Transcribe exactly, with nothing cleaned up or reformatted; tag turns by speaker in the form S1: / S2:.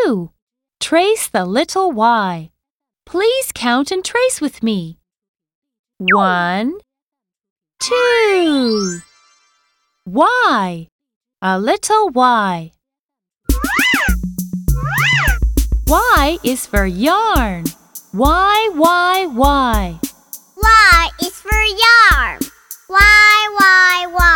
S1: two. Trace the little Y. Please count and trace with me. One, two. Y. A little Y. Y is for yarn. Y, Y, Y.
S2: Y is for yarn. Y, Y, Y.